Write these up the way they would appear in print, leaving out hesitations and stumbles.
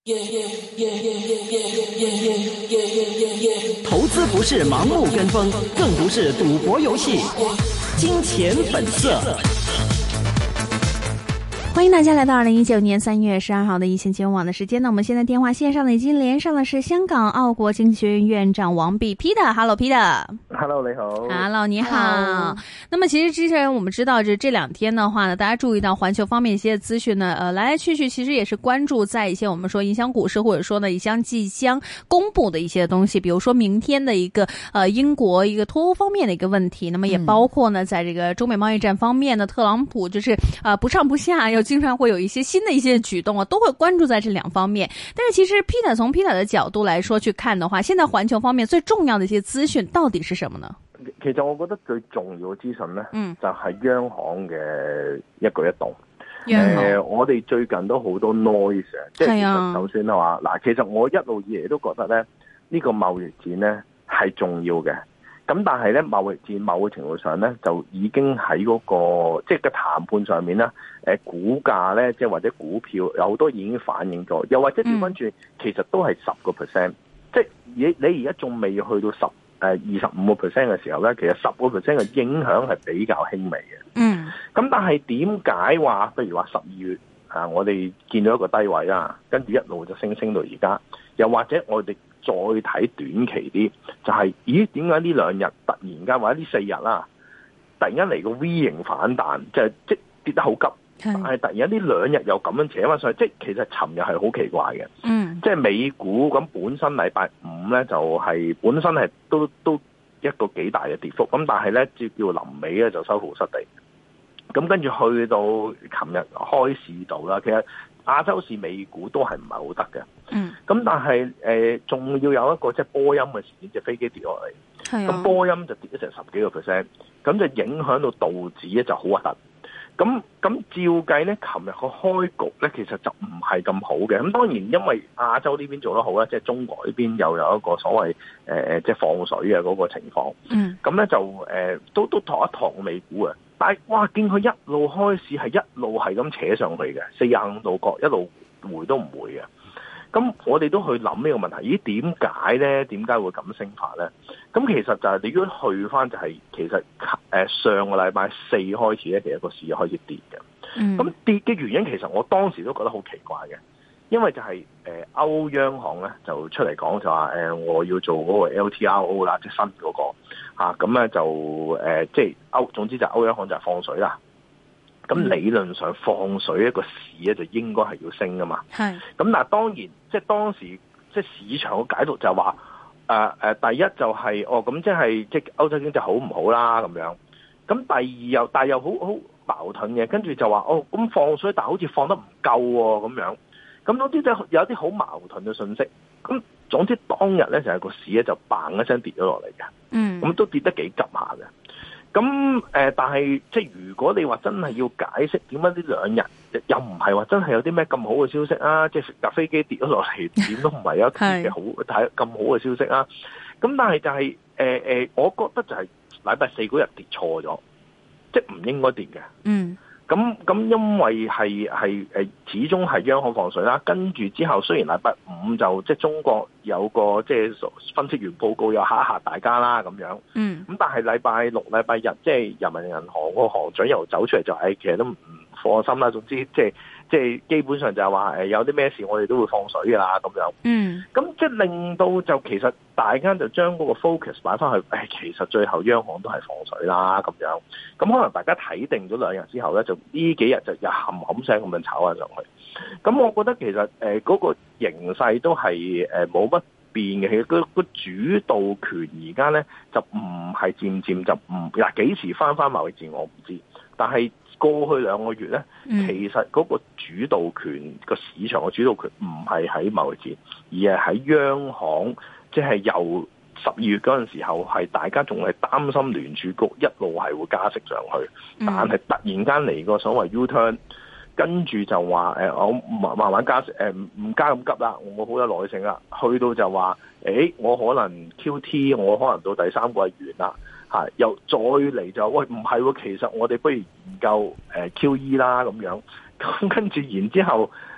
投資不是盲目跟風，更不是賭博遊戲。金錢本色。 歡迎大家來到2019年3月12號的一線金融網的時間呢，我們現在電話線上呢已經連上的是香港奧國經濟學院院長王弼 Peter。Hello Peter。Hello 你好。 Hello 你好。那麼其實之前我們知道這兩天的話呢，大家注意到環球方面一些資訊呢，來來去去其實也是關注在一些我們說影響股市或者說呢即將公布的一些東西，比如說明天的一個英國一個脫歐方面的一個問題，那麼也包括呢在這個中美貿易戰方面呢，特朗普就是不上不下，又經常會有一些新的一些舉動啊，都會關注在這兩方面。但是其實 Peter 從 Peter 的角度來說去看的話，現在環球方面最重要的一些資訊到底是什麼呢？ 其實我覺得最重要嘅資訊呢，就係央行嘅一舉一動。我哋最近都好多 noise 即係其實就算係話嗱，其實我一路以嚟都覺得咧，呢個貿易戰呢係重要嘅。咁但係咧，貿易戰某個程度上咧，就已經喺嗰個即係個談判上面啦。股價咧，即係或者股票有好多已經反映咗，又或者調翻轉，其實都係10%。即係你而家仲未去到25%嘅時候咧，其實10%嘅影響係比較輕微嘅。咁但係點解話，譬如話12月我哋見到一個低位啦，跟住一路就升到而家，又或者我哋再睇短期啲，就係點解呢兩日突然間或者呢4日啦，突然間嚟個 V 型反彈，即跌得好急，但係突然間呢兩日又咁樣扯翻上去，即其實尋日係好奇怪嘅。即係美股咁本身禮拜五咧就係本身係都一個幾大嘅跌幅，咁但係咧叫臨尾咧就收復失地。咁跟住去到琴日開市度啦，其實亞洲市美股都係唔係好得嘅。咁但係仲要有一個即係波音嘅事件，隻飛機跌落嚟。咁波音就跌咗成10幾個%，咁就影響到道指咧就好核突。咁照計咧，琴日個開局咧其實就唔係咁好嘅。咁當然因為亞洲呢邊做得好啦，即係中國呢邊又有一個所謂即係放水嘅嗰個情況。咁咧就都托一托美股啊。但係哇，見佢一路開市係一路係咁扯上去嘅，45度角一路回都唔回嘅。咁我哋都去諗呢個問題，點解咧？點解會咁升法咧？咁其實就係你如果去翻就係其實上個禮拜4開始咧，其實個市開始跌嘅。咁跌嘅原因其實我當時都覺得好奇怪嘅，因為就係歐央行咧就出嚟講就話我要做嗰個 LTRO 啦，即係新嗰個咁咧就即係總之就歐央行就係放水啦。咁理論上放水一個市咧就應該係要升噶嘛。咁但係當然即係當時即係市場嘅解讀就話第一就係咁即係即係歐洲經濟好唔好啦咁樣。咁第二但係又好矛盾嘅，跟住就話咁放水，但係好似放得唔夠喎咁樣。咁總之就有啲好矛盾嘅信息。咁總之當日咧就係個市咧就嘭一聲跌咗落嚟嘅。咁都跌得幾急下嘅。咁但係即係如果你話真係要解釋點解呢兩日又唔係話真係有啲咩咁好嘅消息啊？即係架飛機跌咗落嚟，點都唔係有一啲嘅好睇咁好嘅消息啊！咁但係就係我覺得就係禮拜4嗰日跌錯咗，即係唔應該跌嘅。咁因為係始終係央行放水啦，跟住之後雖然禮拜5就即係中國有個即係分析員報告又嚇一嚇大家啦咁樣，咁但係禮拜6、禮拜日即係人民銀行個行長又走出嚟就其實都唔放心啦，總之即係基本上就係話有啲咩事我哋都會放水㗎啦咁樣。咁即係令到就其實大家就將嗰個 focus 擺翻去，其實最後央行都係放水啦咁樣。咁可能大家睇定咗2日之後咧，就呢幾日就又冚聲咁樣炒翻上去。咁我覺得其實嗰個形勢都係冇乜變嘅。其實個主導權而家咧就唔係漸漸就唔幾時翻貿易戰我唔知，但係過去2個月咧，其實嗰個主導權個市場嘅主導權唔係喺貿易戰，而係喺央行，即係由12月嗰陣時候係大家仲係擔心聯儲局一路係會加息上去，但係突然間嚟個所謂 U-turn， 跟住就話我慢慢加息，唔加咁急啦，我好有耐性啦，去到就話我可能 QT， 我可能到第3季完啦。又再嚟就喂唔係喎，其實我哋不如研究QE 啦咁樣，咁跟住然之後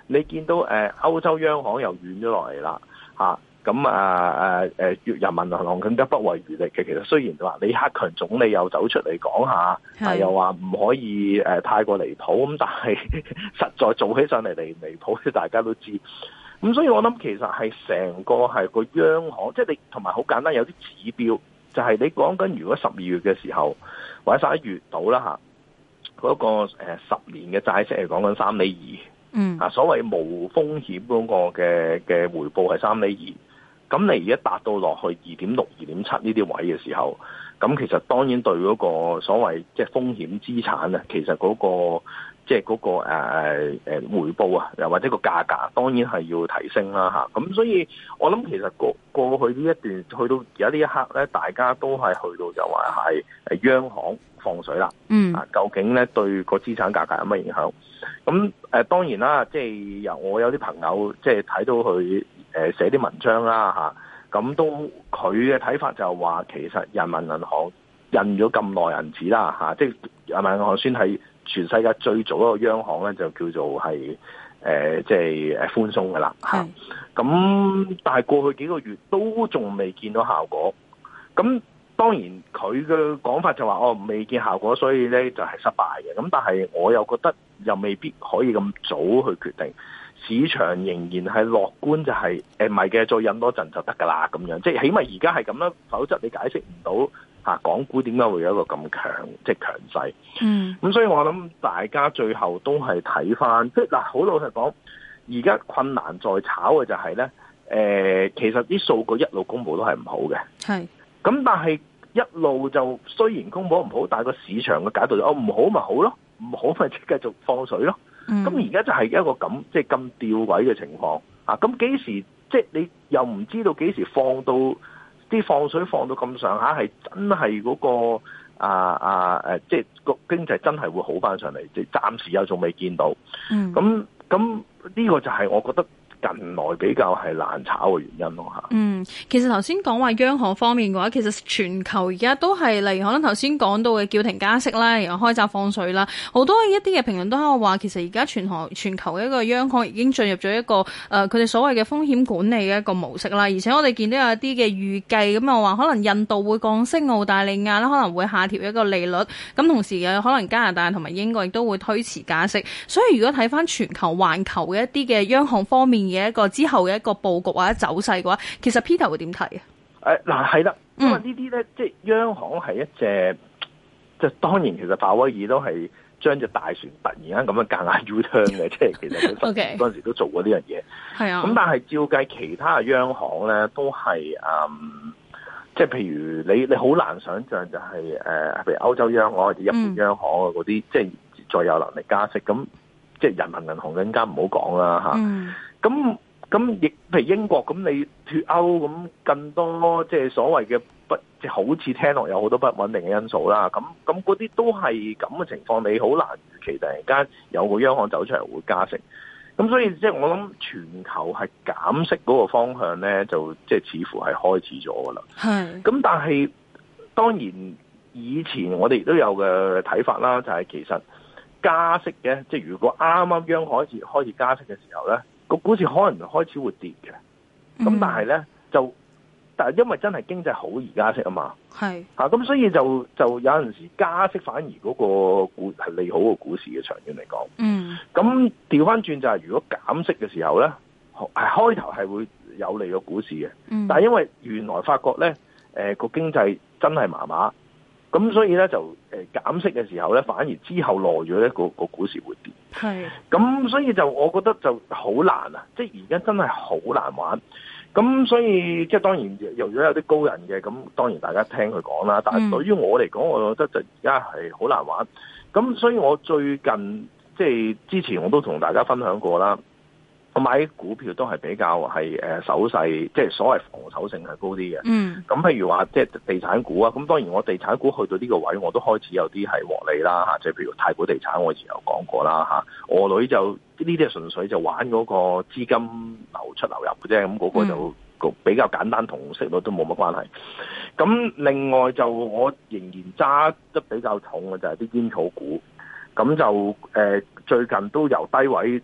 你見到歐洲央行又軟咗落嚟啦嚇。咁人民銀行更加不遺餘力嘅。其實雖然話李克強總理又走出嚟講下，又話唔可以太過離譜，咁但係實在做起上嚟離譜，大家都知。咁所以我諗其實係成個係個央行，即係你同埋好簡單有啲指標，就係你講緊如果12月嘅時候或者11月到啦嚇，嗰個10年嘅債息係講緊3.2厘，所謂無風險嗰個嘅回報係3.2厘。咁你而家達到落去2.6、2.7呢啲位嘅時候，咁其實當然對嗰個所謂即係風險資產啊，其實嗰個即係嗰個回報啊，又或者個價格，當然係要提升啦嚇。咁所以我諗其實過去呢一段去到而家呢一刻咧，大家都係去到就話係央行放水啦。究竟咧對個資產價格有乜影響？咁當然啦，即係我有啲朋友即係睇到佢寫啲文章啦嚇，咁都佢嘅睇法就話其實人民銀行印咗咁耐銀紙啦嚇，即係人民銀行算係全世界最早一個央行咧，就叫做係即係寬鬆嘅啦嚇。咁但係過去幾個月都仲未見到效果。咁當然佢嘅講法就話未見效果，所以咧就係失敗嘅。咁但係我又覺得又未必可以咁早去決定。市場仍然係樂觀，就係唔係嘅，再印多陣就得㗎啦咁樣。即係起碼而家係咁啦，否則你解釋唔到港股點解會有一個咁強即係強勢。咁所以我諗大家最後都係睇翻，即係嗱，好老實講，而家困難在炒嘅就係咧，其實啲數據一路公佈都係唔好嘅。咁但係一路就雖然公佈唔好，但係個市場嘅解讀就唔好咪好咯，唔好咪即繼續放水咯。咁而家就係一個咁即係咁吊詭嘅情況啊！咁幾時即係你又唔知道幾時放到啲放水放到咁上下，係真係嗰個即係個經濟真係會好翻上嚟，即係暫時又仲未見到。咁呢個就係我覺得近來比較係難炒嘅原因咯嚇。 其實頭先講話央行方面嘅話，其實全球而家都係例如可能頭先講到嘅叫停加息啦，然後開閘放水啦，好多一啲嘅評論都喺度話，其實而家全球嘅一個央行已經進入咗一個佢哋所謂嘅風險管理嘅一個模式啦。而且我哋見到有一啲嘅預計咁話，可能印度會降息，澳大利亞啦可能會下調一個利率，咁同時可能加拿大同埋英國亦都會推遲加息。所以如果睇翻全球環球嘅一啲嘅央行方面嘅一個之後嘅一個佈局或者走勢嘅話，其實 Peter 會點睇啊？嗱係啦，因為呢啲咧，即係央行係一隻，即係當然其實鮑威爾都係將隻大船突然間咁樣夾硬 U-turn 嘅，即係其實佢嗰陣時都做過呢樣嘢。係啊，咁但係照計其他嘅央行咧都係即係譬如你好難想像就係譬如歐洲央行或者日本央行啊嗰啲，即係再有能力加息，咁即係人民銀行更加唔好講啦嚇。咁亦譬如英國咁，你脫歐咁更多即係所謂嘅即係好似聽落有好多不穩定嘅因素啦。咁嗰啲都係咁嘅情況，你好難預期突然間有個央行走出嚟會加息。咁所以即係我諗全球係減息嗰個方向咧，就即係似乎係開始咗噶啦。咁但係當然以前我哋亦都有嘅睇法啦，就係其實加息嘅，即係如果啱啱央行開始加息嘅時候咧，個股市可能開始會跌嘅。咁但係咧但係因為真係經濟好而加息啊嘛，咁所以就有陣時加息反而嗰個股係利好個股市嘅，長遠嚟講。咁調翻轉就係如果減息嘅時候咧，開頭係會有利個股市嘅。但係因為原來發覺咧，個經濟真係麻麻，咁所以咧就減息嘅時候咧，反而之後耐咗咧個股市會跌。咁所以就我覺得就好難啊！即係而家真係好難玩。咁所以即係當然，如果有啲高人嘅，咁當然大家聽佢講啦。但係對於我嚟講，我覺得就而家係好難玩。咁所以我最近即係之前我都同大家分享過啦。我買股票都係比較係守勢，即係所謂防守性係高啲嘅。咁譬如話即係地產股啊，咁當然我地產股去到呢個位，我都開始有啲係獲利啦嚇。即係譬如太古地產，我以前有講過啦嚇。我女就呢啲係純粹就玩嗰個資金流出流入嘅啫，咁嗰個就比較簡單，同息率都冇乜關係。咁另外就我仍然揸得比較重嘅就係啲煙草股。咁就最近都由低位都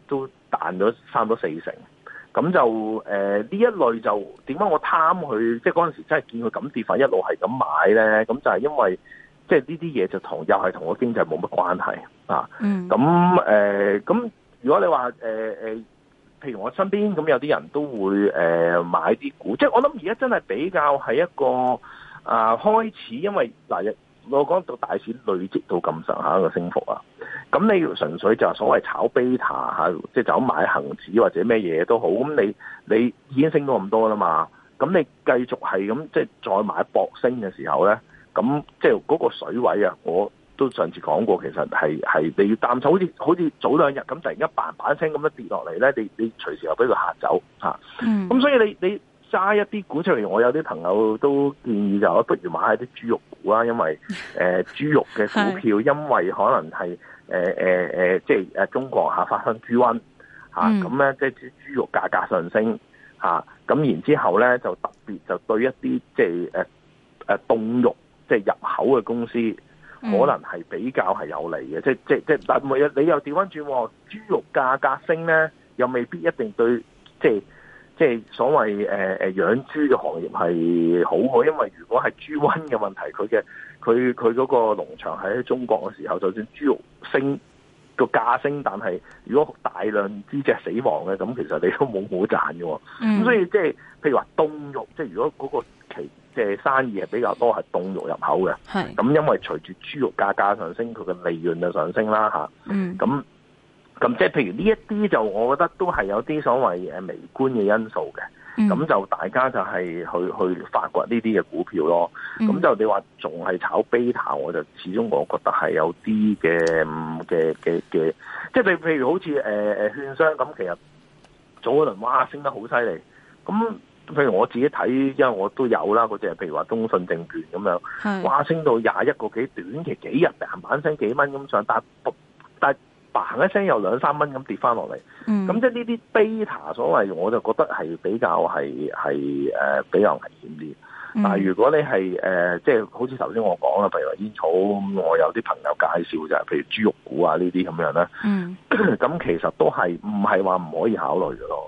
彈咗差唔多4成。咁就呢一類就點解我貪佢？即係嗰陣時真係見佢咁跌法，一路係咁買咧。咁就係因為即係呢啲嘢就又係同個經濟冇乜關係啊。咁如果你話譬如我身邊咁有啲人都會買啲股，即係我諗而家真係比較係一個開始，因為嗱我講到大市累積到咁上下一個升幅啊。咁你純粹就係所謂炒 beta 嚇，即係就咁買恆指或者咩嘢都好，咁你已經升到咁多啦嘛，咁你繼續係咁即係再買搏升嘅時候咧，咁即係嗰個水位啊，我都上次講過，其實係你要擔心，好似早2日咁突然間嘭聲咁樣跌落嚟咧，你隨時又俾佢嚇走嚇。咁所以你揸一啲股出嚟，我有啲朋友都建議就不如買下啲豬肉股啦，因為豬肉嘅股票因為可能係即係中國發生豬瘟咁咧，即係豬肉價格上升咁然之後咧就特別就對一啲即係凍肉即係入口嘅公司可能係比較係有利嘅，即但你又調翻轉，豬肉價格升咧，又未必一定對即係所謂養豬嘅行業係好嘅，因為如果係豬瘟嘅問題，佢嗰個農場喺中國嘅時候，就算豬肉升個價升，但係如果大量豬隻死亡嘅，咁其實你都冇賺嘅。咁所以即係譬如話凍肉，即係如果嗰個即係生意係比較多係凍肉入口嘅，咁因為隨住豬肉價格上升，佢嘅利潤就上升啦咁即係譬如呢一啲就我覺得都係有啲所謂微觀嘅因素嘅，咁就大家就係去發掘呢啲嘅股票咯。咁就你話仲係炒 beta， 我就始終我覺得係有啲嘅，即係你譬如好似券商咁，其實早一輪哇升得好犀利。咁譬如我自己睇，因為我都有啦，嗰隻譬如話中信證券咁樣，哇升到21個幾，短期幾日嘭聲幾蚊咁上，但嘭一聲又2、3蚊咁跌翻落嚟，咁即係呢啲 beta 所謂，我就覺得係比較比較危險啲。但係如果你係即係好似頭先我講啦，譬如話煙草，我有啲朋友介紹就係譬如豬肉股啊呢啲咁樣咧，咁其實都係唔係話唔可以考慮嘅咯。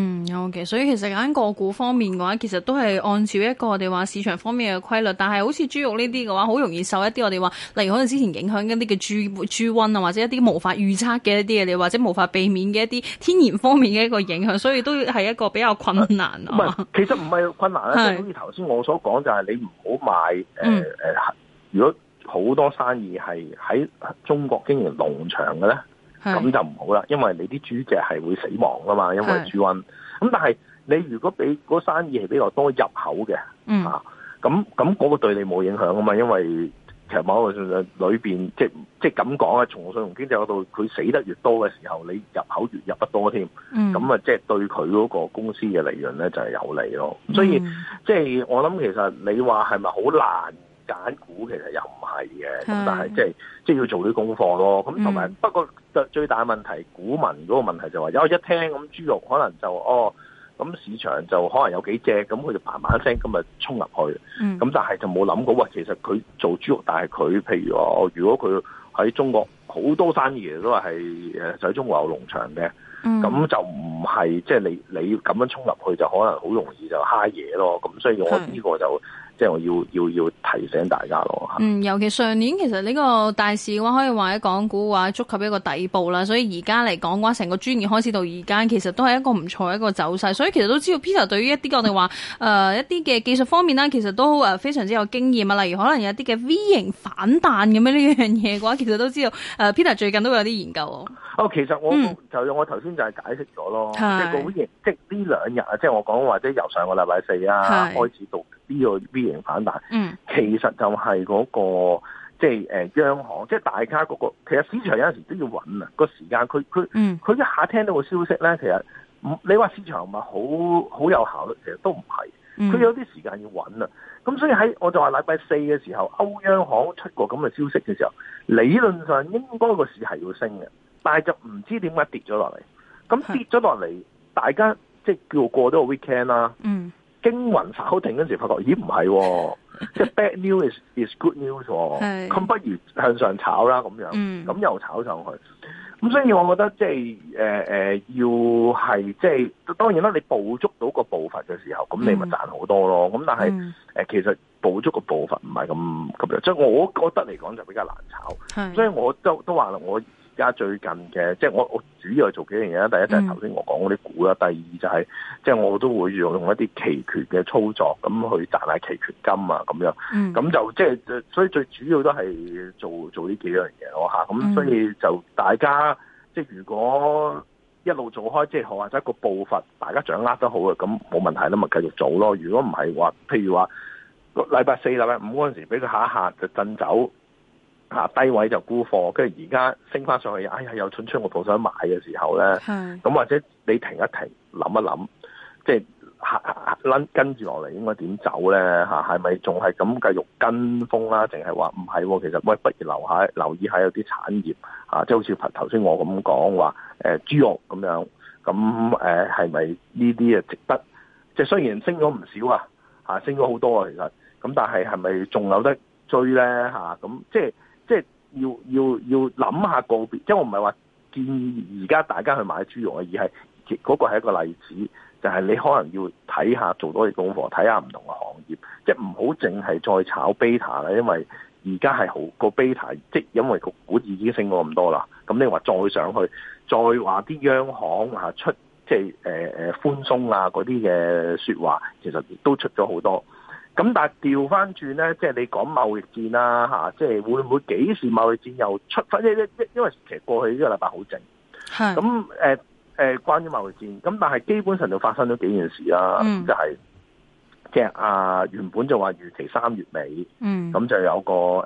OK， 所以其實喺個股方面嘅話，其實都係按照一個我哋話市場方面嘅規律，但係好似豬肉呢啲嘅話，好容易受一啲我哋話，例如可能之前影響一啲嘅豬瘟啊，或者一啲無法預測嘅一啲嘢，你或者無法避免嘅一啲天然方面嘅一個影響，所以都係一個比較困難啊。唔係， 其實唔係困難啦，即係好似頭先我所講就係你唔好買如果好多生意係喺中國經營農場嘅咧，咁就唔好啦，因為你啲豬隻係會死亡噶嘛，因為豬瘟。咁但係你如果俾嗰生意係比較多入口嘅，咁嗰個對你冇影響噶嘛，因為其實某個裏邊即係咁講啊，從信用經濟嗰度，佢死得越多嘅時候，你入口越入得多添，咁啊即係對佢嗰個公司嘅利潤咧就係有利咯。所以即係我諗，其實你話係咪好難揀股，其實又唔係嘅，咁但係即係要做啲功課咯。咁同埋不過最大問題，股民嗰個問題就話，一聽咁豬肉可能就咁市場就可能有幾隻，咁佢就嘭聲咁啊衝入去，咁但係就冇諗過，其實佢做豬肉，但係佢譬如話，如果佢喺中國好多生意都係喺中國有農場嘅，咁就唔係即係你咁樣衝入去就可能好容易就蝦嘢咯。咁所以我呢個就即係我要提醒大家咯。 尤其上年其實呢個大市嘅話，可以話喺港股嘅話觸及一個底部啦。所以而家嚟講嘅話，成個豬年開始到而家，其實都係一個唔錯一個走勢。所以其實都知道 Peter 對於一啲我哋話一啲嘅技術方面啦，其實都非常之有經驗啊。例如可能有啲嘅 V 型反彈咁樣呢樣嘢嘅話，其實都知道Peter 最近都有啲研究。 其實我頭先就係解釋咗咯，即係個 V 型，即係呢2日啊，即係我講或者由上個禮拜4開始到呢個 V 型反彈，其實就係嗰個即係央行，即係大家嗰個，其實市場有陣時都要穩啊個時間，佢一下聽到個消息咧，其實你話市場唔係好有效率，其實都唔係，佢有啲時間要穩啊。咁所以我就話禮拜4嘅時候，歐央行出過咁嘅消息嘅時候，理論上應該個市係要升嘅，但係就唔知點解跌咗落嚟。咁跌咗落嚟，大家即係叫過咗個 weekend 啦。驚魂稍定嗰陣時，發覺咦唔係，即係 bad news is good news，咁不如向上炒啦咁樣，咁又炒上去。 咁所以我覺得即係要係即係當然啦，你捕捉到個步伐嘅時候，咁你咪賺好多咯。咁但係其實捕捉個步伐唔係咁樣，即係我覺得嚟講就比較難炒。所以我都話啦，我而家最近嘅即係我主要係做幾樣嘢啦。第一就係頭先我講嗰啲股啦，第二就係即係我都會用一啲期權嘅操作咁去賺下期權金啊咁樣。咁就即係所以最主要都係做呢幾樣嘢咯嚇。咁所以就大家即係如果一路做開，即係或者個步伐大家掌握得好嘅，咁冇問題啦，咪繼續做咯。如果唔係話，譬如話禮拜4、禮拜5嗰陣時俾佢下一下就震走。低位就沽貨，跟住而家升翻上去，哎呀又蠢出我部想買嘅時候咧，咁或者你停一停，諗一諗，即係跟住落嚟應該點走咧？係咪仲係咁繼續跟風啦？定係話唔係？其實喂，不如留意下有啲產業即係好似頭先我咁講話豬肉咁樣，咁係咪呢啲值得？即係雖然升咗唔少升咗好多其實，咁但係係咪仲有得追咧？咁即係要諗下個別，即係我唔係話建議而家大家去買豬肉而係嗰個係一個例子，就係你可能要睇下做多啲功課，睇下唔同嘅行業，即係唔好淨係再炒 beta 啦，因為而家係好個 beta，即係因為個股已經升咗咁多啦，咁你話再上去，再話啲央行出即係寬鬆嗰啲嘅說話，其實亦都出咗好多。咁但係調翻轉咧，即係你講貿易戰啦即係會唔會幾時貿易戰又出翻？因為其實過去呢個禮拜好靜，咁關於貿易戰，咁但係基本上就發生咗幾件事啦，就係即係原本就話預期3月尾，咁就有個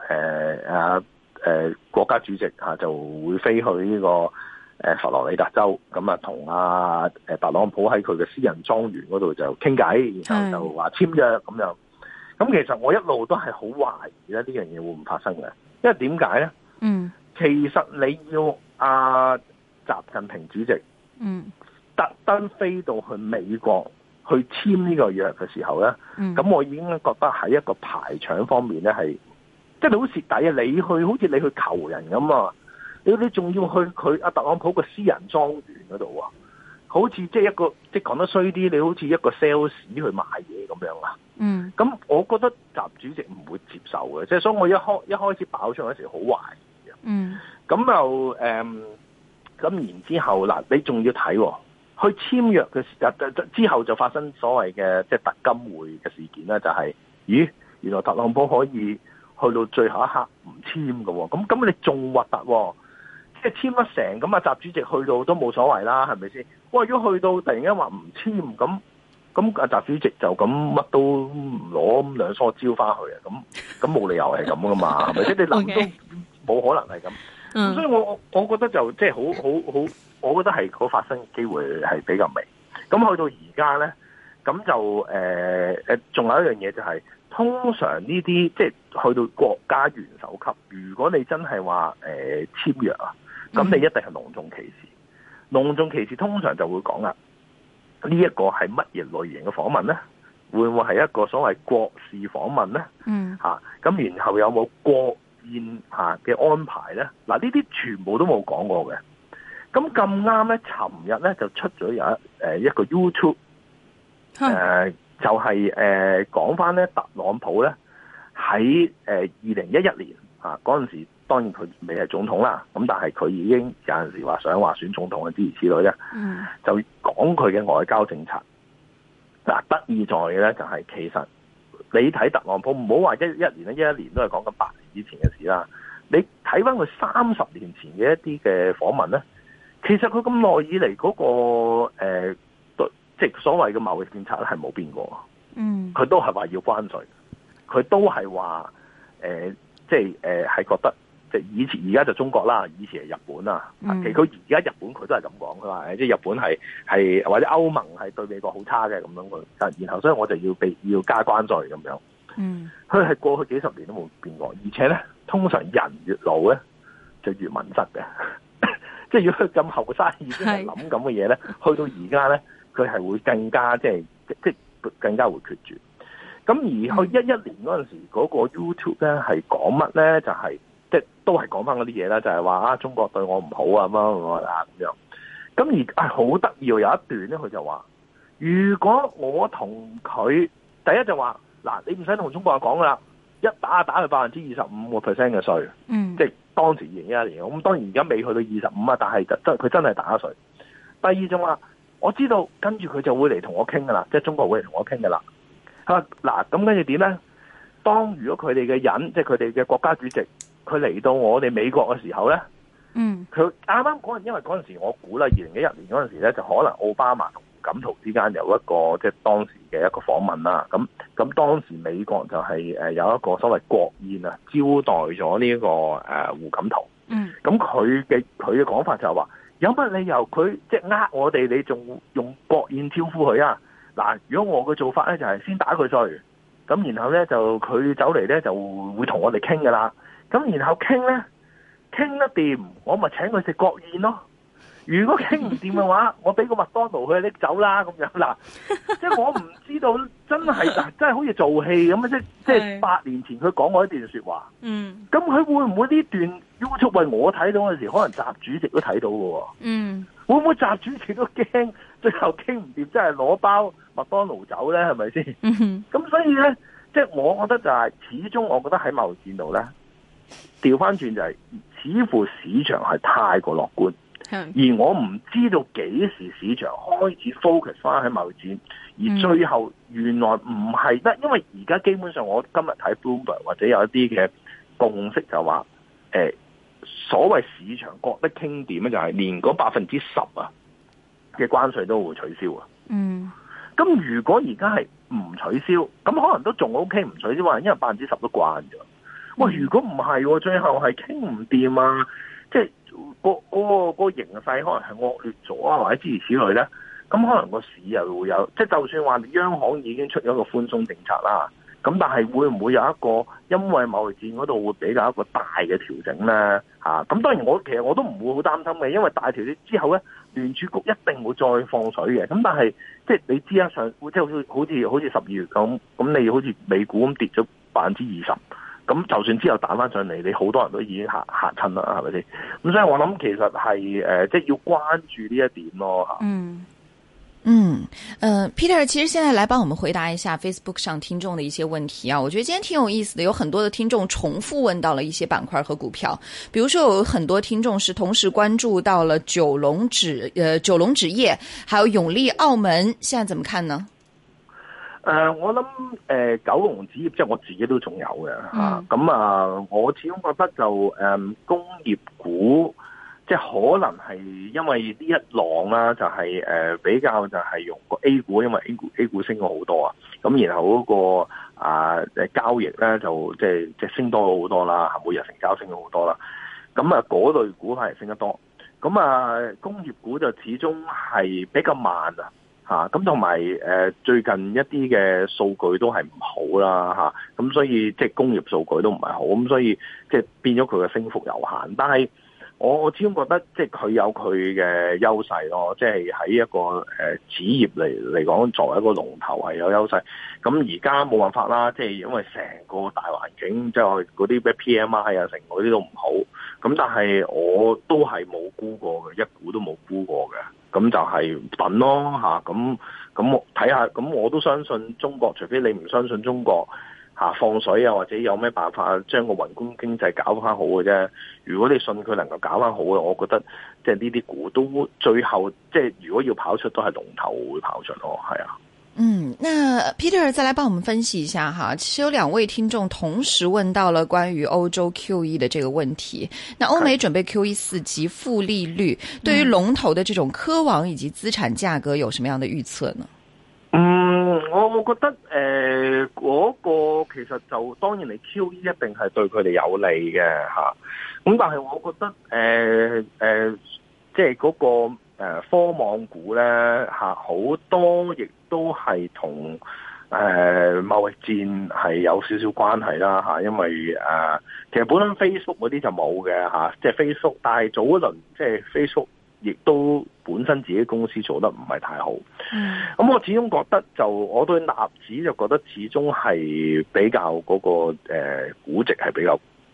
國家主席就會飛去呢個佛羅里達州，咁同特朗普喺佢嘅私人莊園嗰度就傾偈，然後就話簽約咁樣。咁其實我一路都係好懷疑咧呢樣嘢會唔會發生嘅，因為點解咧？其實你要習近平主席特登飛到去美國去簽呢個約嘅時候咧，咁我已經覺得喺一個排場方面咧係，即係你好蝕底啊！你去好似你去求人咁啊，你仲要去佢特朗普個私人莊園嗰度啊，好似即係一個即係講得衰啲，你好似一個 sales 去賣嘢咁樣啊。咁我覺得習主席唔會接受嘅，即係所以我一開始爆出嗰時好懷疑嘅。咁就咁然之後嗱，你仲要睇去簽約嘅時之後就發生所謂嘅即係特金會嘅事件啦，就係咦原來特朗普可以去到最後一刻唔簽嘅，咁你仲核突，即係簽得成咁習主席去到都冇所謂啦，係咪先？哇！如果去到突然間話唔簽咁習主席就咁乜都唔攞兩梳蕉翻去啊！咁冇理由係咁噶嘛，係咪先？你諗都冇可能係咁。所以我覺得就即係好，我覺得係嗰發生機會係比較微。咁去到而家咧，咁就仲有一樣嘢就係，通常呢啲即係去到國家元首級，如果你真係話簽約啊，咁你一定係隆重其事。隆重其事通常就會講啦。呢一個係乜嘢類型嘅訪問咧？會唔會係一個所謂國事訪問咧？咁然後有冇國宴嘅安排咧？嗱，呢啲全部都冇講過嘅。咁咁啱咧，尋日咧就出咗有一個 YouTube，就係講翻咧特朗普咧喺2011年嗰陣時。當然佢未係總統啦，咁但係佢已經有陣時話想話選總統嘅諸如此類咧，就講佢嘅外交政策。嗱，得意在嘅咧就係其實你睇特朗普唔好話一年咧，一年都係講緊8年以前嘅事啦。你睇翻佢30年前嘅一啲嘅訪問咧，其實佢咁耐以嚟嗰個即係所謂嘅貿易政策咧係冇變過。佢都係話要關稅，佢都係話即係係覺得。即係以前而家就中國啦，以前係日本啦。其實佢而家日本佢都係咁講，佢話即係日本係或者歐盟係對美國好差嘅咁樣佢。然後所以我就要加關稅咁樣。佢係過去幾十年都冇變過，而且咧通常人越老咧就越敏質嘅。即係如果佢咁後生已經係諗咁嘅嘢咧，去到而家咧佢係會更加即係更加會決絕。咁而去11年嗰陣時嗰個 YouTube 咧係講乜咧？就係即係都係講翻嗰啲嘢啦，就係話中國對我唔好啊咁樣。咁而好得意，有一段咧，佢就話：如果我同佢第一就話嗱，你唔使同中國人講噶啦，一打佢25%嘅稅，即係當時2011年。咁當然而家未去到25啊，但係佢真係打稅。第二就話，我知道跟住佢就會嚟同我傾噶啦，即係中國會嚟同我傾噶啦。嗱，咁跟住點咧？當如果佢哋嘅人，即係佢哋嘅國家主席，佢嚟到我哋美國嘅時候咧，佢啱啱嗰陣，因為嗰陣時我估啦，2011年嗰陣時咧，就可能奧巴馬同胡錦濤之間有一個即係當時嘅一個訪問啦。咁當時美國就係有一個所謂國宴啊，招待咗呢個胡錦濤。咁佢嘅講法就係話，有乜理由佢即係我哋，你仲用國宴招呼佢啊？嗱，如果我嘅做法咧就係先打佢稅，咁然後咧就佢走嚟咧就會同我哋傾噶啦。咁然後傾咧傾得掂，我咪請佢食國宴咯。如果傾唔掂嘅話，我俾個麥當勞佢拎走啦咁樣嗱。即係我唔知道真係好似做戲咁啊！即係8年前佢講過一段說話。咁佢會唔會呢段 YouTube 為我睇到嘅時，可能習主席都睇到嘅？會唔會習主席都驚最後傾唔掂，真係攞包麥當勞走咧？係咪先？咁所以咧，即係我覺得就係始終，我覺得喺貿易戰度咧，調翻轉就係似乎市場係太過樂觀。而我唔知道幾時市場開始 focus 翻喺貿易戰，而最後原來唔係得，因為而家基本上我今日睇 Bloomberg 或者有一啲嘅共識就話，所謂市場覺得傾掂咧，就係連嗰10%嘅關稅都會取消啊。咁如果而家係唔取消，咁可能都仲 OK，唔取消話，因為10%都慣咗。喂，如果唔係，最後係傾唔掂啊，即係個形勢可能係惡劣咗啊，或者諸如此類咧，咁可能個市又會有，即係就算話央行已經出咗個寬鬆政策啦，咁但係會唔會有一個因為貿易戰嗰度會比較一個大嘅調整咧？咁當然其實我都唔會好擔心嘅，因為大調整之後咧，聯儲局一定會再放水嘅。咁但係即係你知啊，即係好似12月咁你好似美股咁跌咗20%。咁就算之後彈翻上嚟，你好多人都已經嚇親啦，係咪先？咁所以我諗其實係即係要關注呢一點咯嚇。 Peter， 其實現在來幫我們回答一下 Facebook 上聽眾的一些問題啊。我覺得今天挺有意思的，有很多的聽眾重複問到了一些板塊和股票，比如說有很多聽眾是同時關注到了九龍紙業，還有永利澳門，現在怎麼看呢？ 我諗九龍紙業即係我自己都仲有嘅嚇，咁我始終覺得就工業股即係可能係因為呢一浪啦，就係比較就係用個 A 股，因為 A 股升咗好多啊，咁然後嗰個交易咧就即係升多咗好多啦，每日成交升咗好多啦，咁嗰類股係升得多，咁工業股就始終係比較慢啊。咁同埋最近一啲嘅數據都係唔好啦，咁所以即係工業數據都唔係好，咁所以即係變咗佢嘅升幅有限。但係我始終覺得即係佢有佢嘅優勢咯，即係喺一個紙業嚟講，作為一個龍頭係有優勢。咁而家冇辦法啦，即係因為成個大環境，即係嗰啲咩 PMI 啊，成嗰啲都唔好。咁但係我都係冇沽過嘅，一股都冇沽過嘅。咁就係等咯嚇，咁我睇下，咁我都相信中國，除非你唔相信中國放水啊，或者有咩辦法將個宏觀經濟搞翻好嘅啫。如果你信佢能夠搞翻好嘅，我覺得即係呢啲股都最後即係如果要跑出，都係龍頭會跑出咯，係啊。 那 Peter 再來幫我們分析一下哈，其實有兩位聽眾同時問到了關於歐洲 QE 的這個問題。那歐美準備 QE 4及負利率，對於龍頭的這種科網以及資產價格有什麼樣的預測呢？ 我覺得嗰個其實就當然你 QE 一定係對佢哋有利嘅吓，咁但係我覺得即係嗰個科網股咧吓，好多亦都係同貿易戰係有少少關係啦吓，因為其實本身 Facebook 嗰啲就冇嘅吓，即係 Facebook， 但係早一輪即係 Facebook 亦都本身自己公司做得唔係太好。咁我始終覺得就我對納指就覺得始終係比較嗰個估值係比較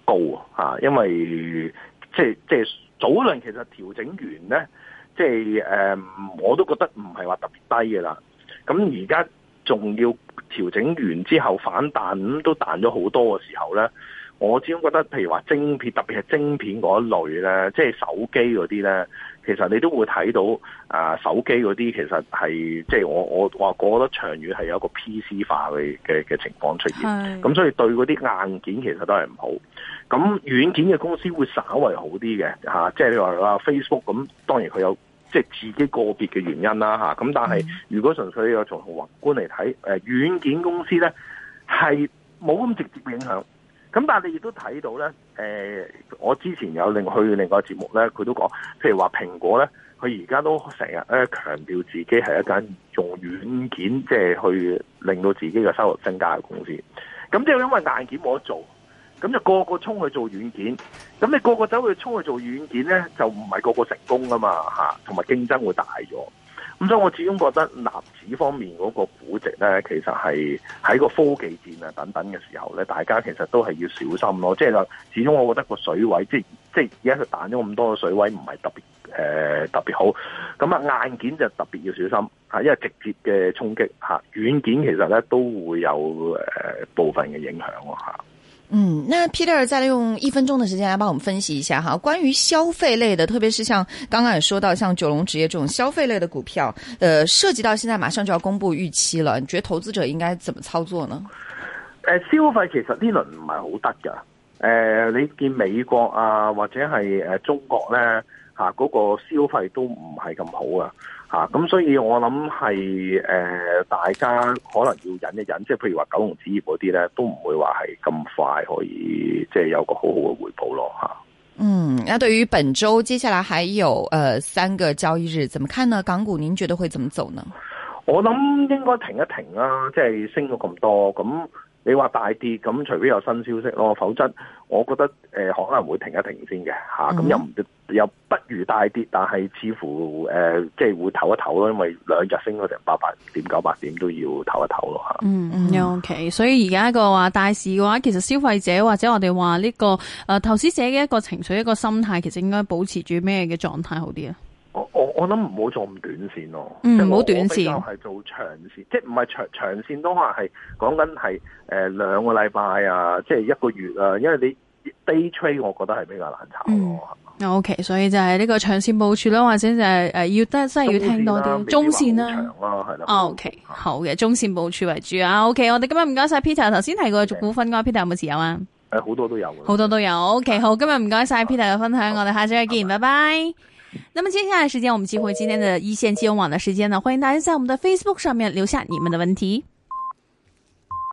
高啊，因為即係早輪其實調整完咧，即係我都覺得唔係話特別低嘅啦。咁而家仲要調整完之後反彈，咁都彈咗好多嘅時候咧，我始終覺得譬如話晶片，特別係晶片嗰一類咧，即係手機嗰啲咧，其實你都會睇到手機嗰啲其實係即係我覺得長遠係有一個 PC 化嘅情況出現，咁所以對嗰啲硬件其實都係唔好。咁軟件嘅公司會稍為好啲嘅嚇，即係你話 Facebook 咁，當然佢有即係自己個別嘅原因啦嚇。咁但係如果純粹有從宏觀嚟睇，軟件公司咧係冇咁直接影響。咁但係你亦都睇到咧，我之前有去另外一個節目咧，佢都講，譬如話蘋果咧，佢而家都成日強調自己係一間用軟件即係去令到自己嘅收入增加嘅公司。咁即係因為硬件冇得做。咁就個個衝去做軟件，咁你個個走去衝去做軟件咧，就唔係個個成功噶嘛嚇，同埋競爭會大咗。咁所以我始終覺得納指方面嗰個估值咧，其實係喺個科技戰啊等等嘅時候咧，大家其實都係要小心咯。即係始終我覺得個水位，即係而家佢彈咗咁多嘅水位，唔係特別好。咁硬件就特別要小心嚇，因為直接嘅衝擊嚇，軟件其實咧都會有部分嘅影響嚇。 那 Peter 再用1分鐘的時間來幫我們分析一下哈，關於消費類的，特別是像剛剛也說到像九龍紙業這種消費類的股票，涉及到現在馬上就要公布預期了，你覺得投資者應該怎麼操作呢？ 消費其實呢輪唔係好得㗎，你見美國啊或者係中國咧嚇嗰個消費都唔係咁好啊。咁所以我諗係大家可能要忍一忍，即係譬如話九龍紙業嗰啲咧，都唔會話係咁快可以即係有個好好嘅回報咯嚇。 那對於本週接下來還有3個交易日，怎麼看呢？港股您覺得會怎麼走呢？ 我諗應該停一停啦，即係升咗咁多，咁你話大跌，咁除非有新消息咯，否則我覺得可能會停一停先嘅嚇。咁又不如大跌，但係似乎即係會唞一唞咯，因為2日升咗成8.98點都要唞一唞咯嚇。 OK， 所以而家個話大市嘅話，其實消費者或者我哋話呢個投資者嘅一個情緒一個心態，其實應該保持住咩嘅狀態好啲啊？ 我諗唔好做咁短線咯， 唔好短線， 係做長線，即係唔係長線都可能係講緊係2個禮拜啊，即係1個月啊，因為你 day trade 我覺得係比較難炒咯。 OK， 所以就係呢個長線部署啦，或者就係真係要聽多啲中線啦。 係啦。 OK， 好嘅，中線部署為主啊。OK， 我哋今日唔該晒 Peter， 頭先提過股份嘅 Peter 有冇持有啊？ 好多都有。 好多都有。OK， 好，今日唔該晒 Peter 嘅分享，我哋下次再見，拜拜。那麼接下來時間，我們接回今天的一線金融網的時間呢，歡迎大家在我們的 Facebook 上面留下你們的問題。